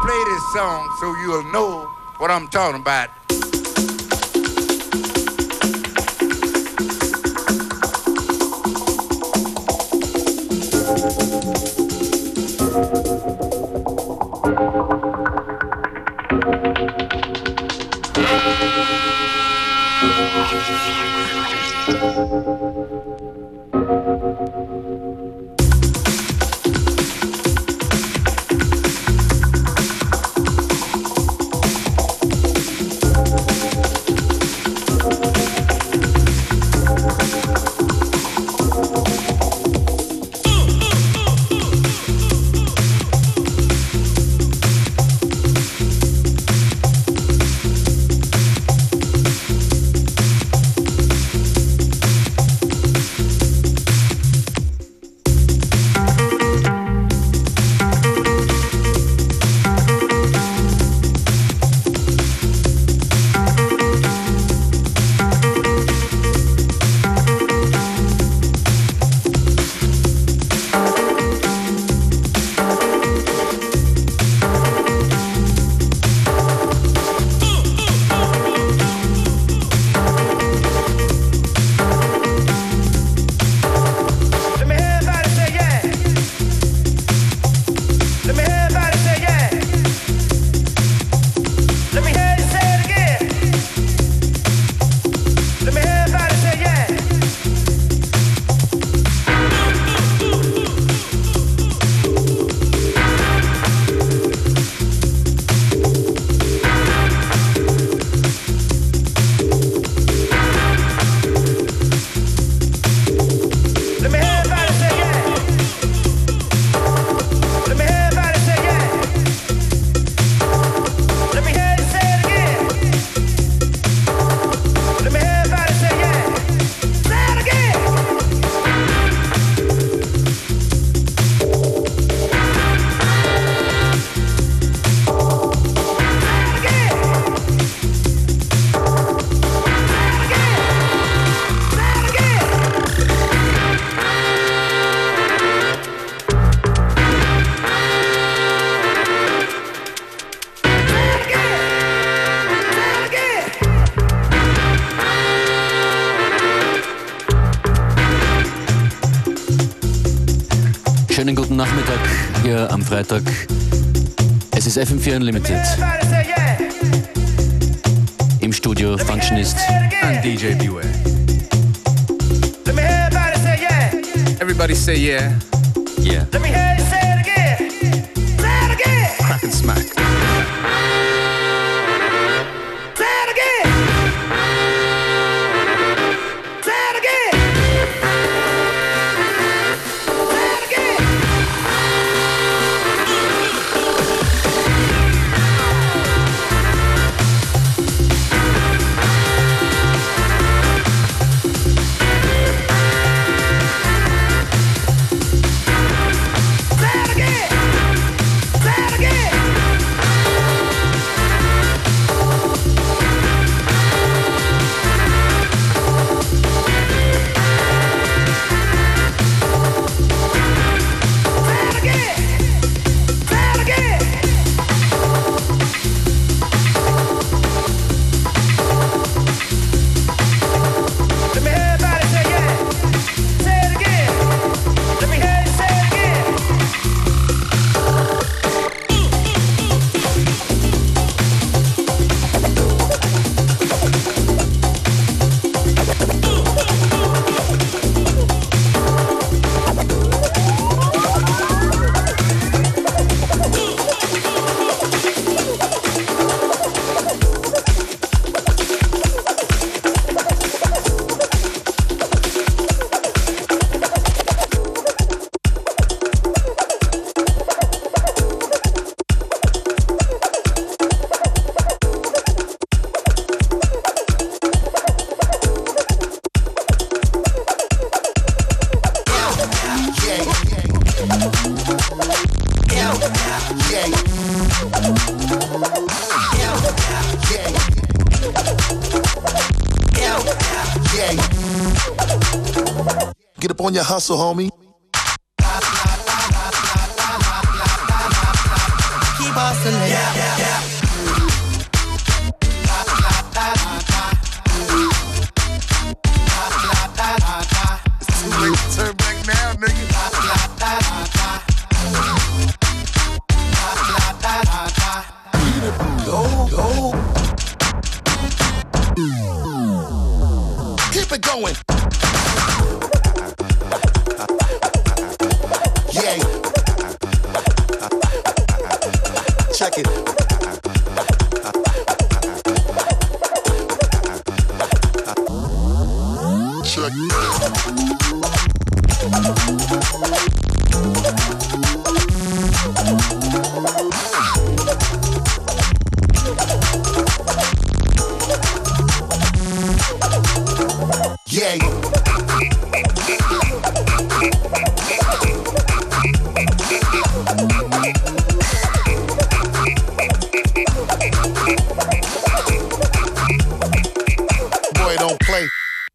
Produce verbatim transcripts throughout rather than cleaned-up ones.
play this song so you'll know what I'm talking about. Schönen guten Nachmittag hier am Freitag. Es ist F M vier Unlimited. Im Studio Functionist and D J Beware. Everybody say yeah. Yeah. Let me hear you say it again. Say it again. Crack and smack. Say it again. Say it again. Say it again. Get up on your hustle, homie. Keep keep hustling. Yeah, yeah, yeah. It's too late to turn back now, nigga. Go, go. Keep it going. Yeah. Check it. Check it. Yeah. Boy, don't play.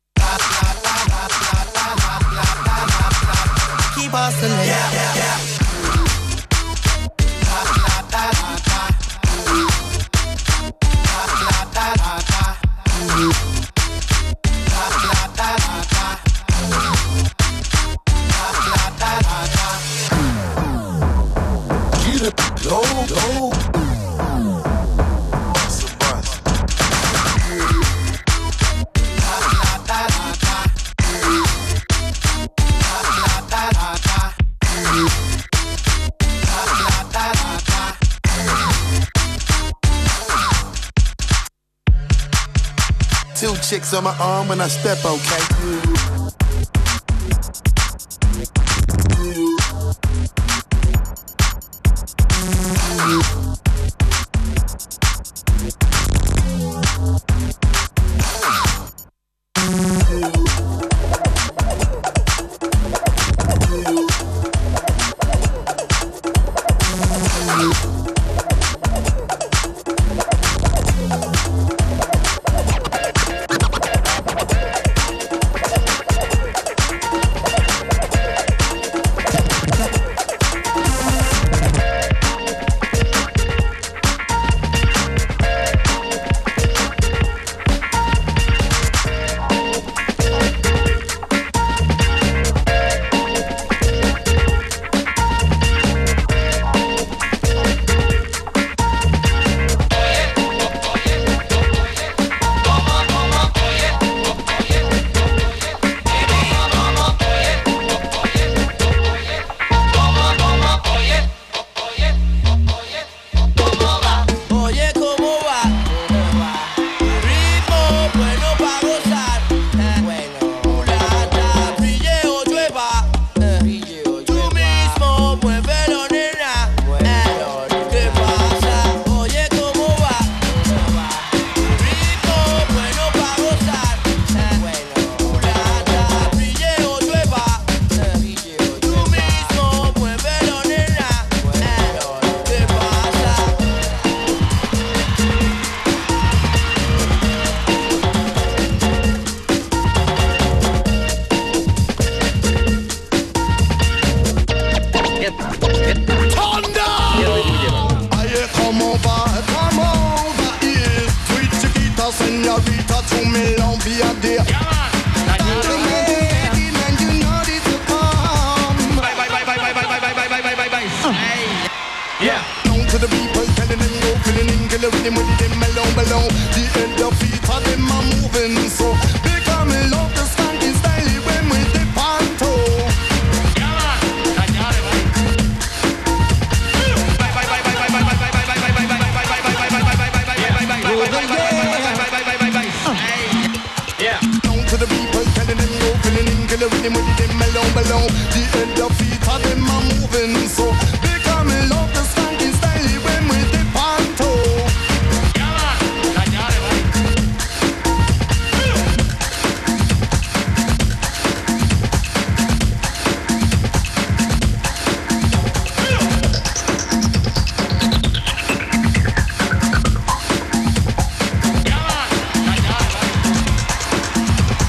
Keep hustling. Yeah, yeah, yeah. Get it. Go, go. It's a bus. Two chicks on my arm when I step, okay?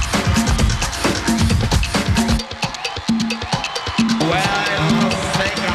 Well, I think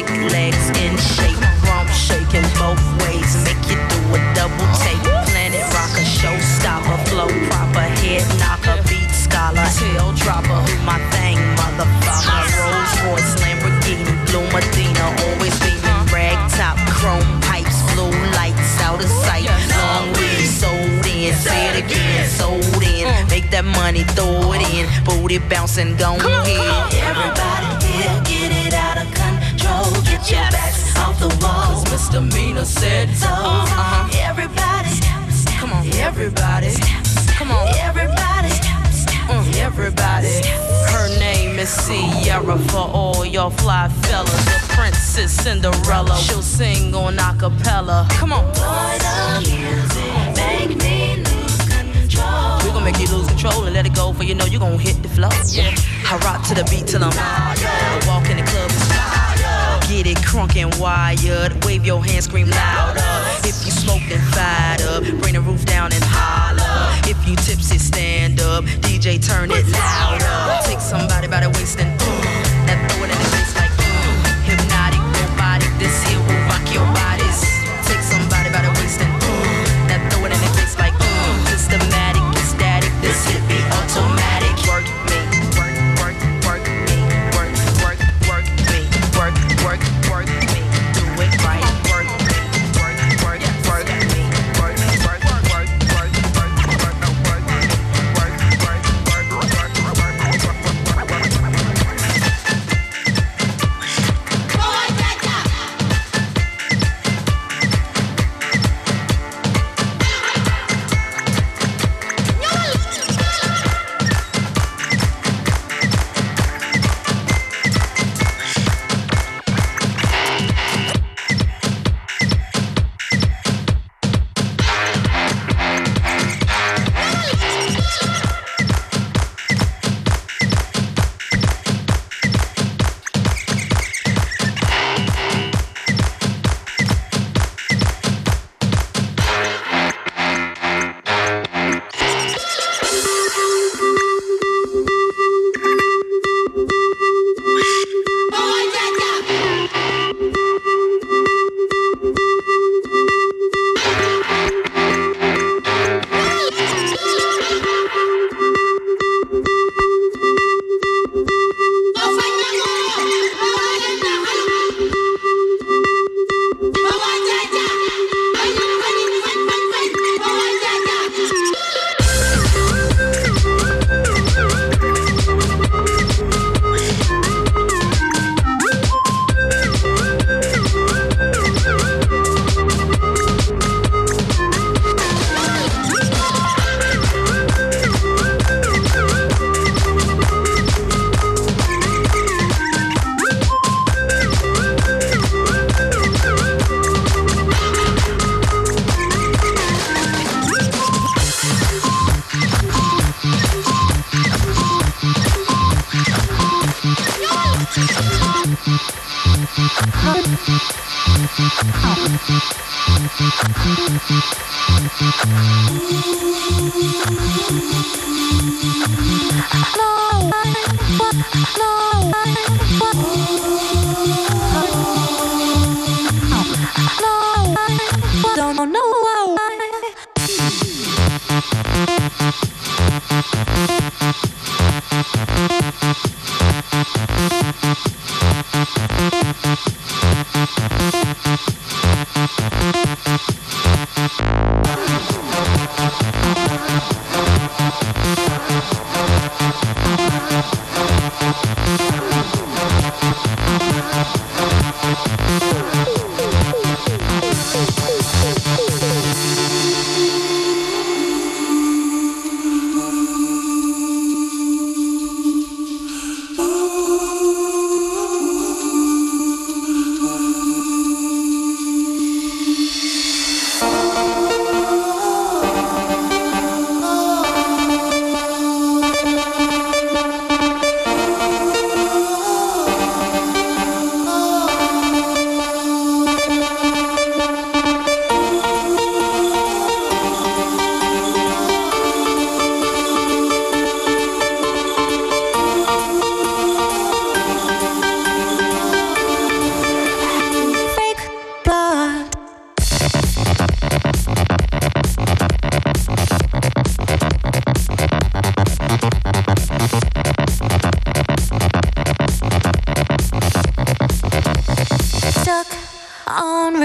thick legs in shape, rump shaking both ways, make you do a double take. Planet rocker, showstopper, flow proper, head knocker, beat scholar, tail dropper, who my thing, motherfucker. Rolls Royce, Lamborghini, Blue Medina, always beaming, rag top, chrome pipes, blue lights out of sight. Long weed, sold in, say it again, sold in. Make that money, throw it in, booty bouncing, gon' ahead. Everybody here, get it out of control, get your backs off the wall. Cause Misdemeanor said so. Uh-huh. Everybody, come on, everybody, come on, everybody, uh, everybody. Her name is Sierra for all y'all fly fellas. The Princess Cinderella, she'll sing on acapella. Come on. Boy, the music make me lose control. We gon' make you lose control and let it go, for you know you gon' hit the floor. Yeah, I rock to the beat till I'm tired. I walk in the club and style. Get it crunk and wired. Wave your hands, scream louder. If you smoked and fired up, bring the roof down and holler. If you tipsy, stand up. D J, turn it louder. Take somebody by the waist and boom. Now throw it in the face like boom. Hypnotic, robotic, this here will rock your bodies. Take somebody by the waist and boom. Now throw it in the face like boom. Systematic, ecstatic, this hit be automatic. Work me, work, work, work me, work, work, work me, work, work, work me. Do it right, work me, work, work, work me, work, work, work, work, work, work, work, work, work, Don't know why. We'll be right back.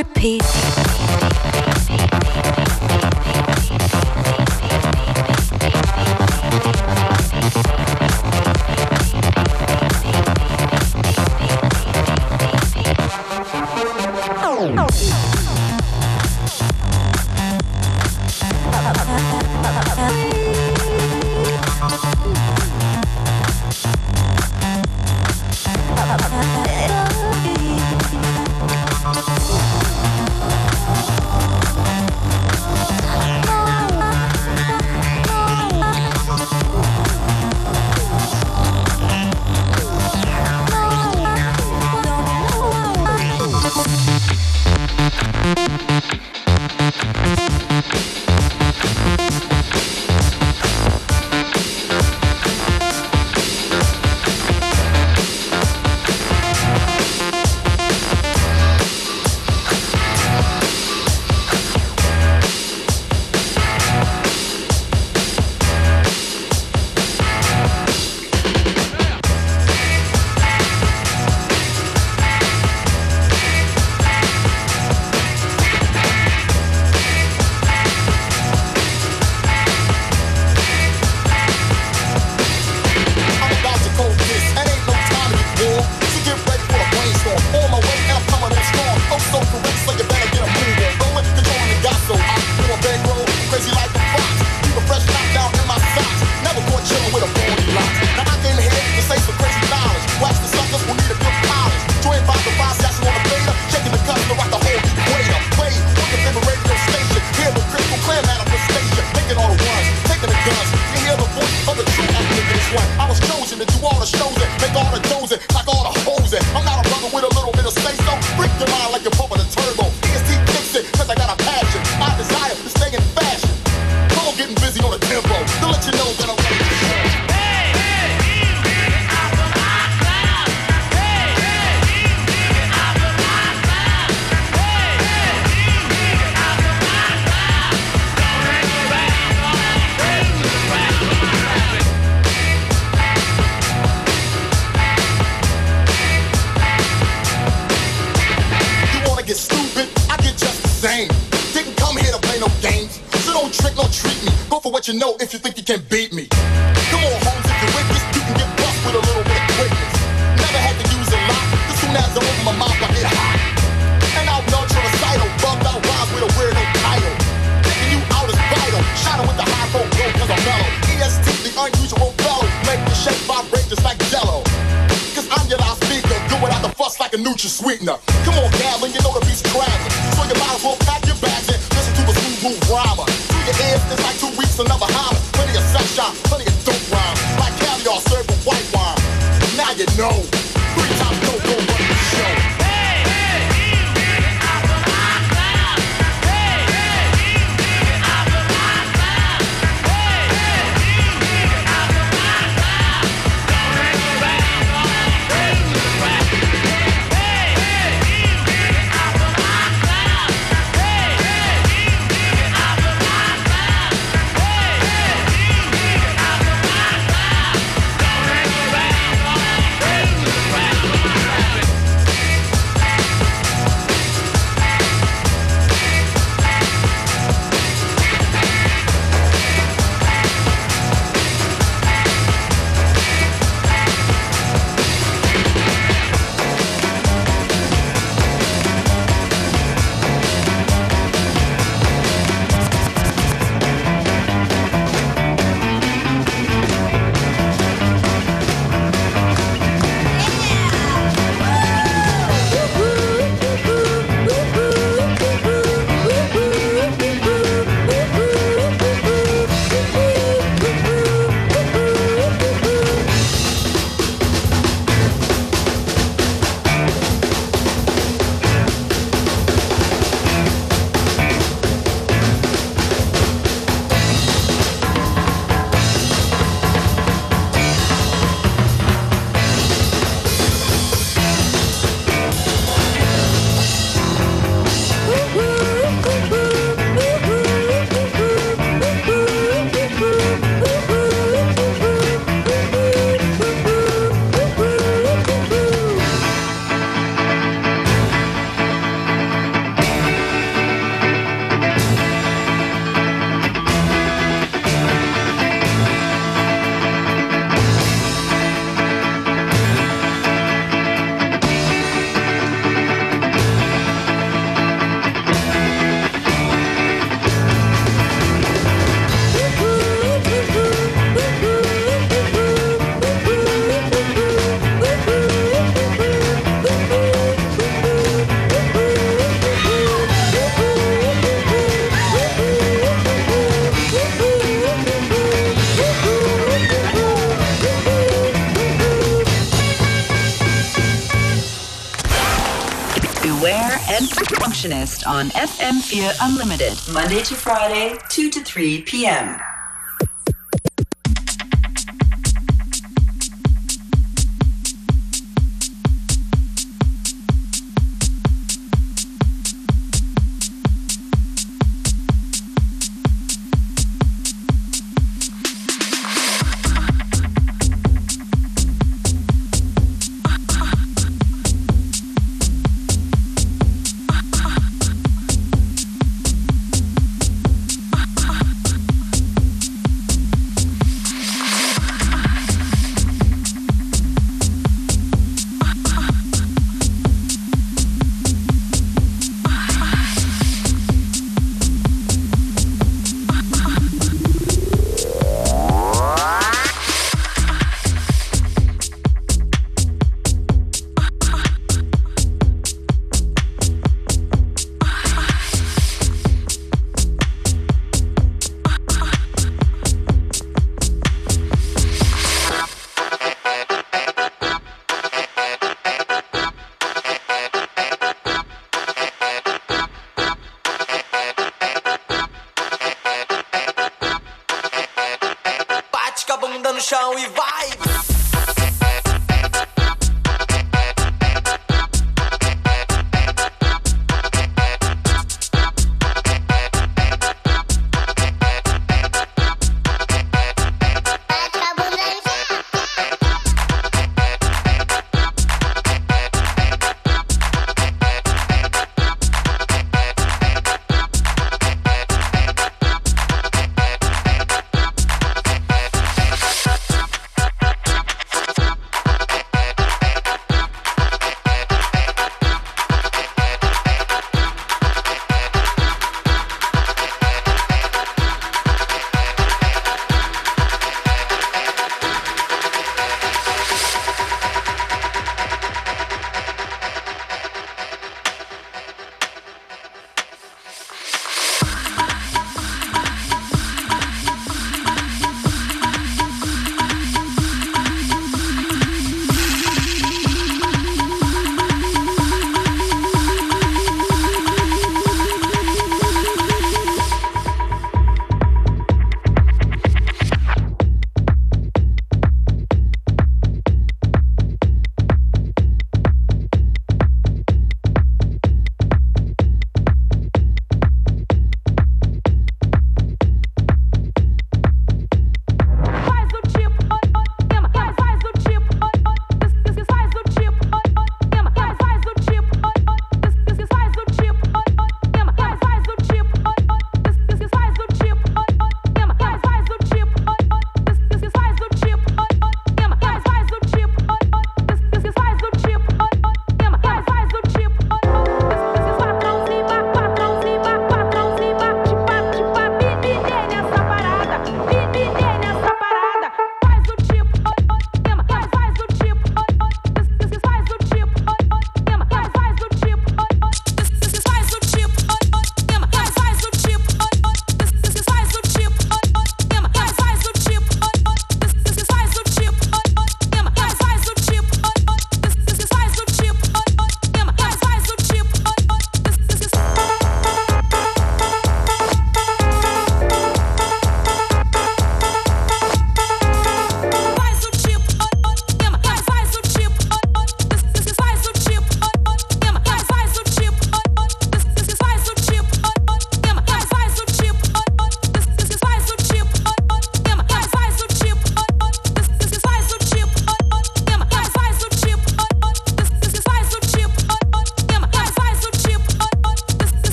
repeat. You know if you think you can beat me. Come on, Holmes, if you're with this, you can get bust with a little bit of quickness. Never had to use a lot. As soon as I open my mouth, I get hot. And out nurture recital, bugged out rhymes with a weirdo title. Taking you out is vital. Shining with the high road glow cause I'm mellow. E S T, the unusual fellow. Make the shape vibrate just like jello. Cause I'm your loudspeaker, do it out the fuss like a Nutri-Sweetener. Come on, Gavin, you know the beat's traveling. So you might as well pack your bags and listen to a smooth move rhymer. Through your ears, it's like two weeks another hammer. Plenty of sunshine, plenty of dope rhymes. Like caviar served with white wine. Now you know. Three times no go run the show. Functionist on F M four Unlimited, Monday to Friday, two to three p.m. chão e vai!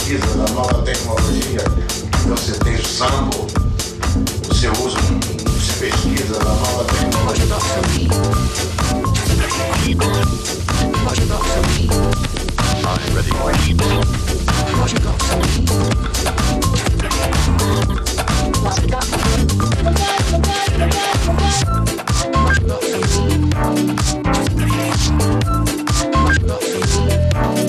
pesquisa da nova tecnologia, você tem sample, você usa, você pesquisa da nova tecnologia. I'm ready. What you got for me? What you got for me? What you got for me? What you got for me?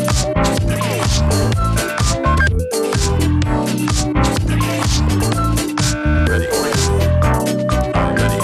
Ready. I'm ready.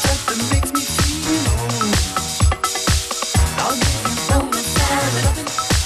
I'll give you all the time.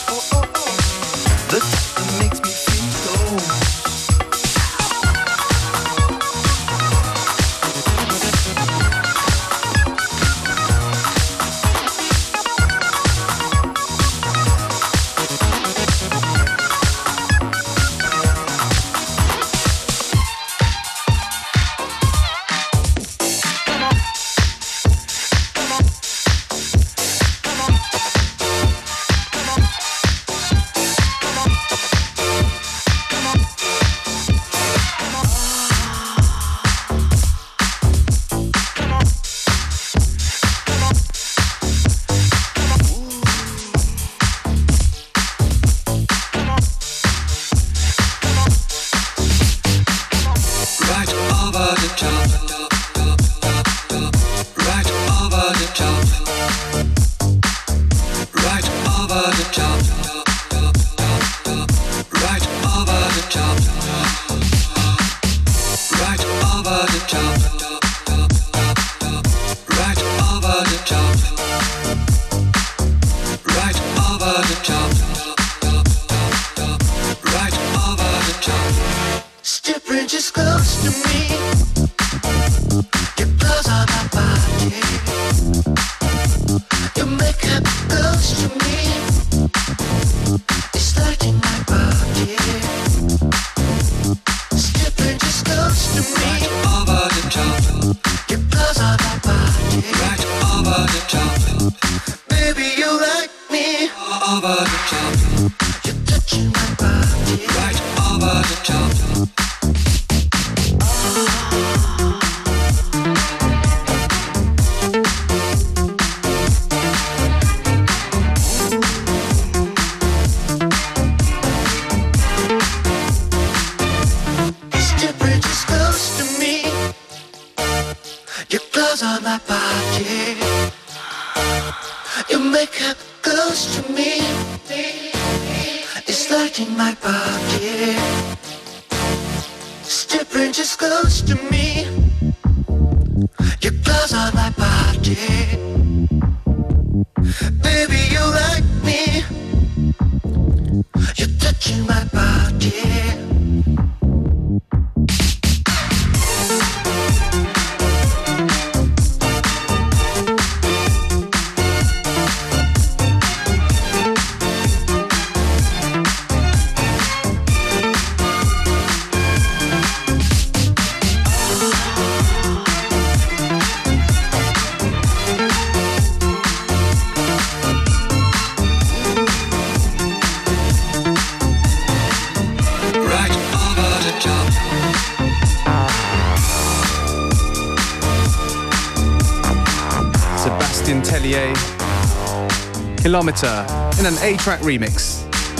Kilometer in an A-Track remix.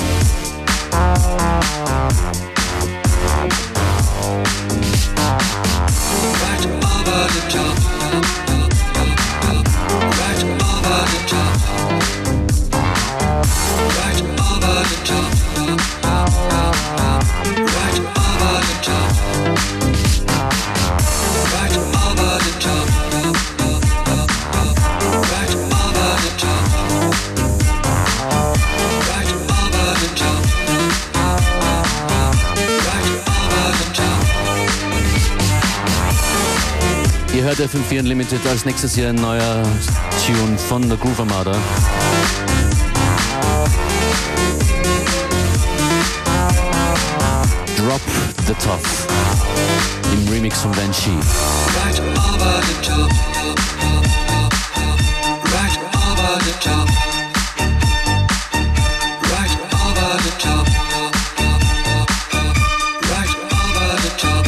Right over the top. Right over the top. Right over the top. Right over the top. Right over the top. Right over the top. Ihr hört F M vier Unlimited, als nächstes hier ein neuer Tune von der Groove Armada. Drop the Top im Remix von Banshee. Right over the top. Right over the top. Right over the top. Right over the top.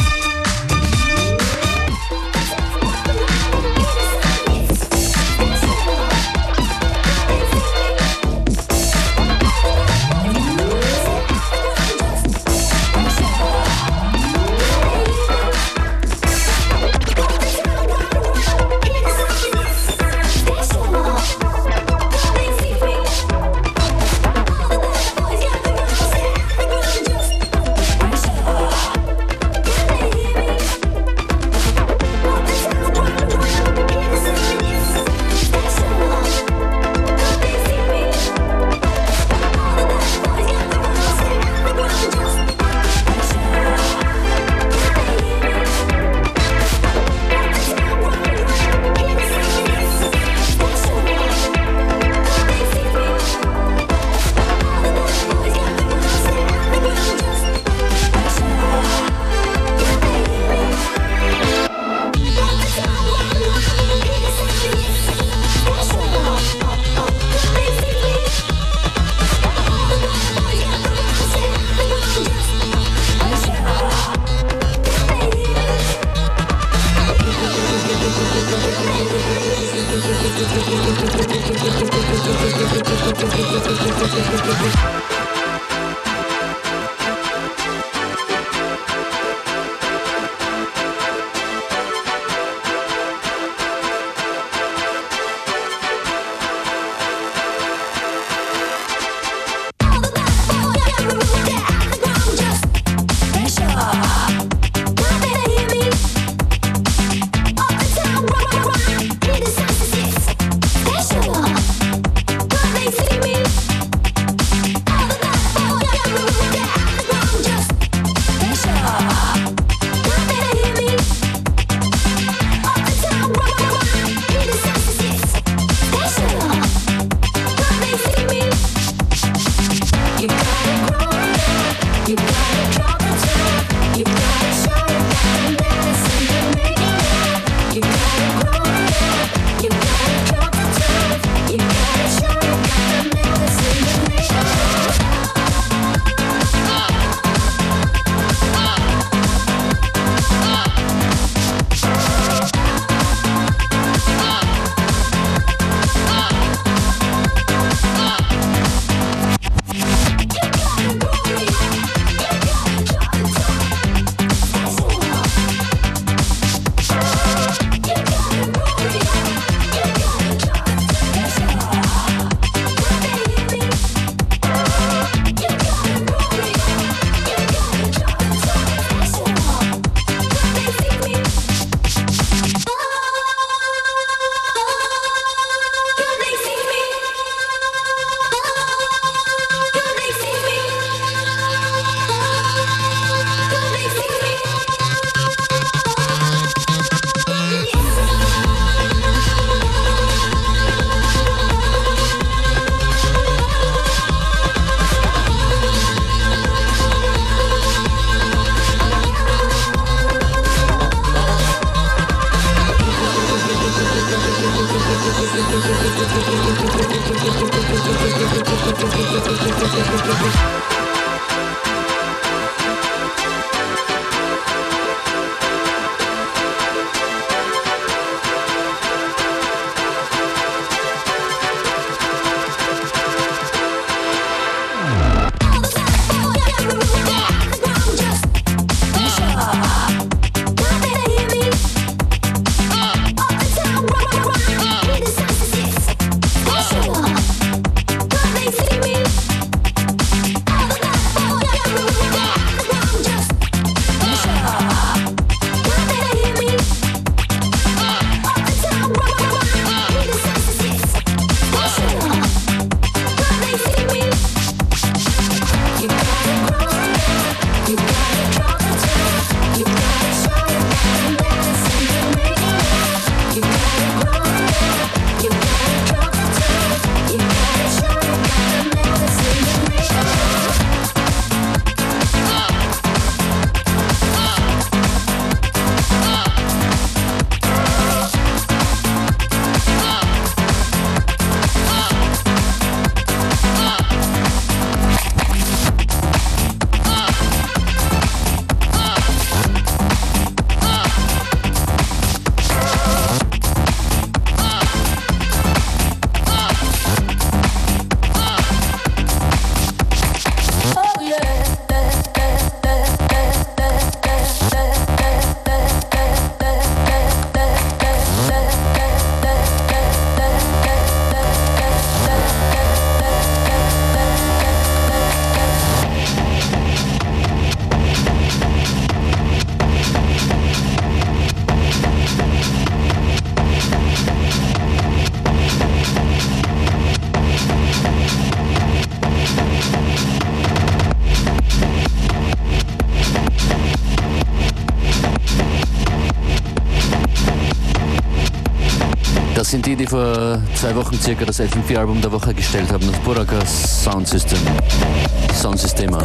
Das sind die, die vor zwei Wochen circa das F M vier Album der Woche gestellt haben, das Buraka Sound System. Soundsystema.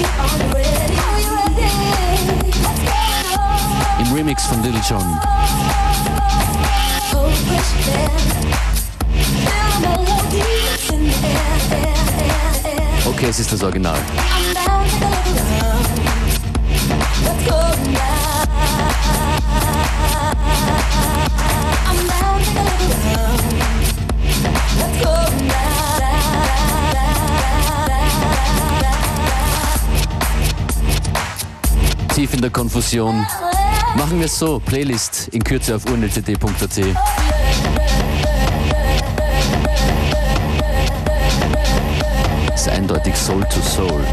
Im Remix von Little John. Okay, es ist das Original. Tief in der Konfusion. Machen wir es so, Playlist in Kürze auf u n l c d punkt a t. Ist eindeutig Soul to Soul.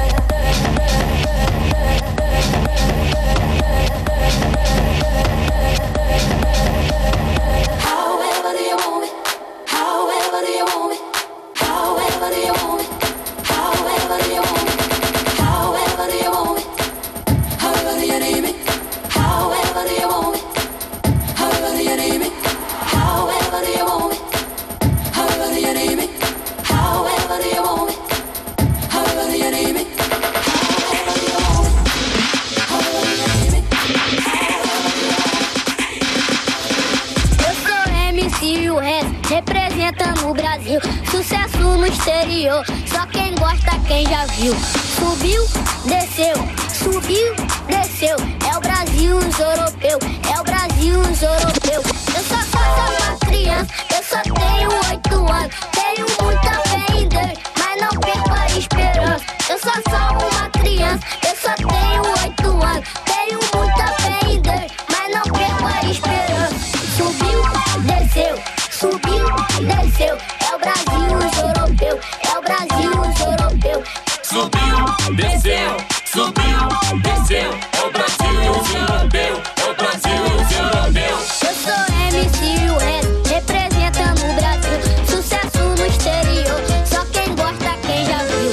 Representando o Brasil, sucesso no exterior, só quem gosta, quem já viu. Subiu, desceu, subiu, desceu. É o Brasil, os europeus, é o Brasil, os europeus. Eu só sou uma criança, eu só tenho oito anos. Tenho muita fé em Deus, mas não perco a esperança. Eu só sou uma criança, eu só tenho oito anos. Tenho muita fé em Deus, mas não perco a esperança. Subiu, desceu, subiu, desceu. É o Brasil, os europeus, é o Brasil, os europeus. Subiu, desceu, subiu, desceu. É o Brasil, os europeus, é o Brasil, os europeus. Eu sou M C U S, representando o Brasil. Sucesso no exterior, só quem gosta, quem já viu.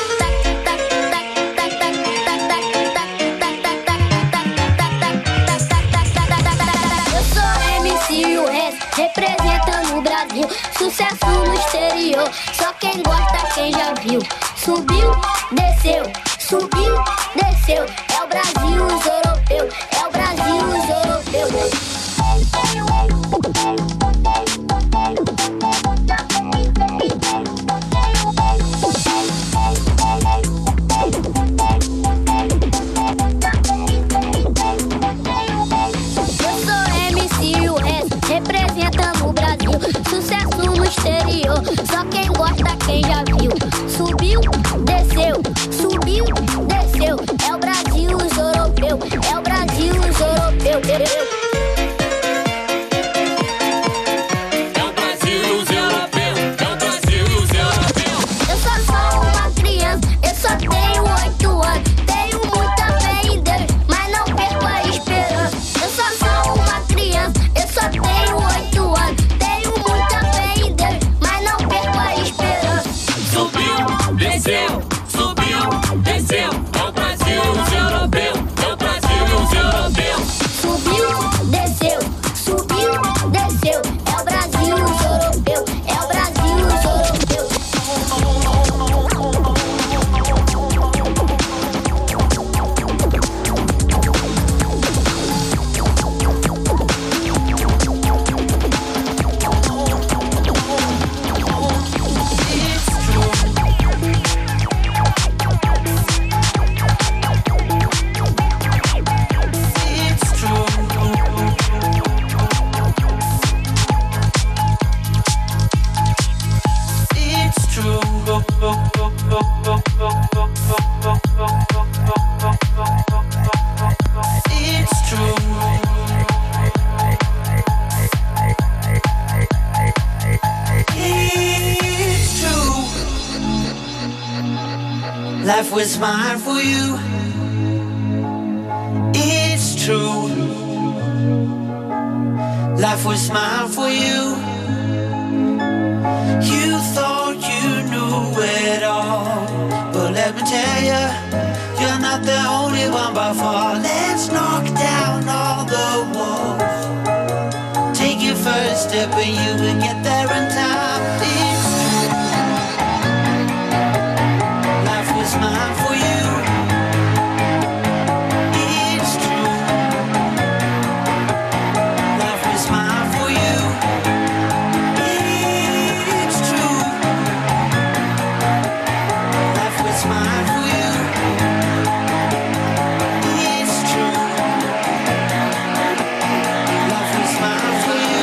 Eu sou M C U S, representando o Brasil. Sucesso no exterior, só quem gosta, quem já viu. Subiu, desceu, subiu, desceu. É o Brasil, os europeus, é o Brasil, os europeus. desceu, subiu, desceu. É o Brasil e os europeus. É o Brasil e os europeus. Subiu, desceu, subiu, desceu. É o Brasil e os europeus. É o Brasil e os europeus. Life was mine for you. It's true. Life was mine for you. You thought you knew it all, but let me tell you, you're not the only one by far. Let's knock down all the walls. Take your first step and you will get there in time. It's true. Life was mine for you. It's true. Life was mine for you. It's true. Life was mine for you. It's true. Life was mine for you.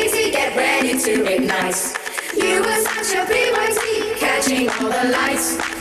to ignite. You were such a P Y T, catching all the lights.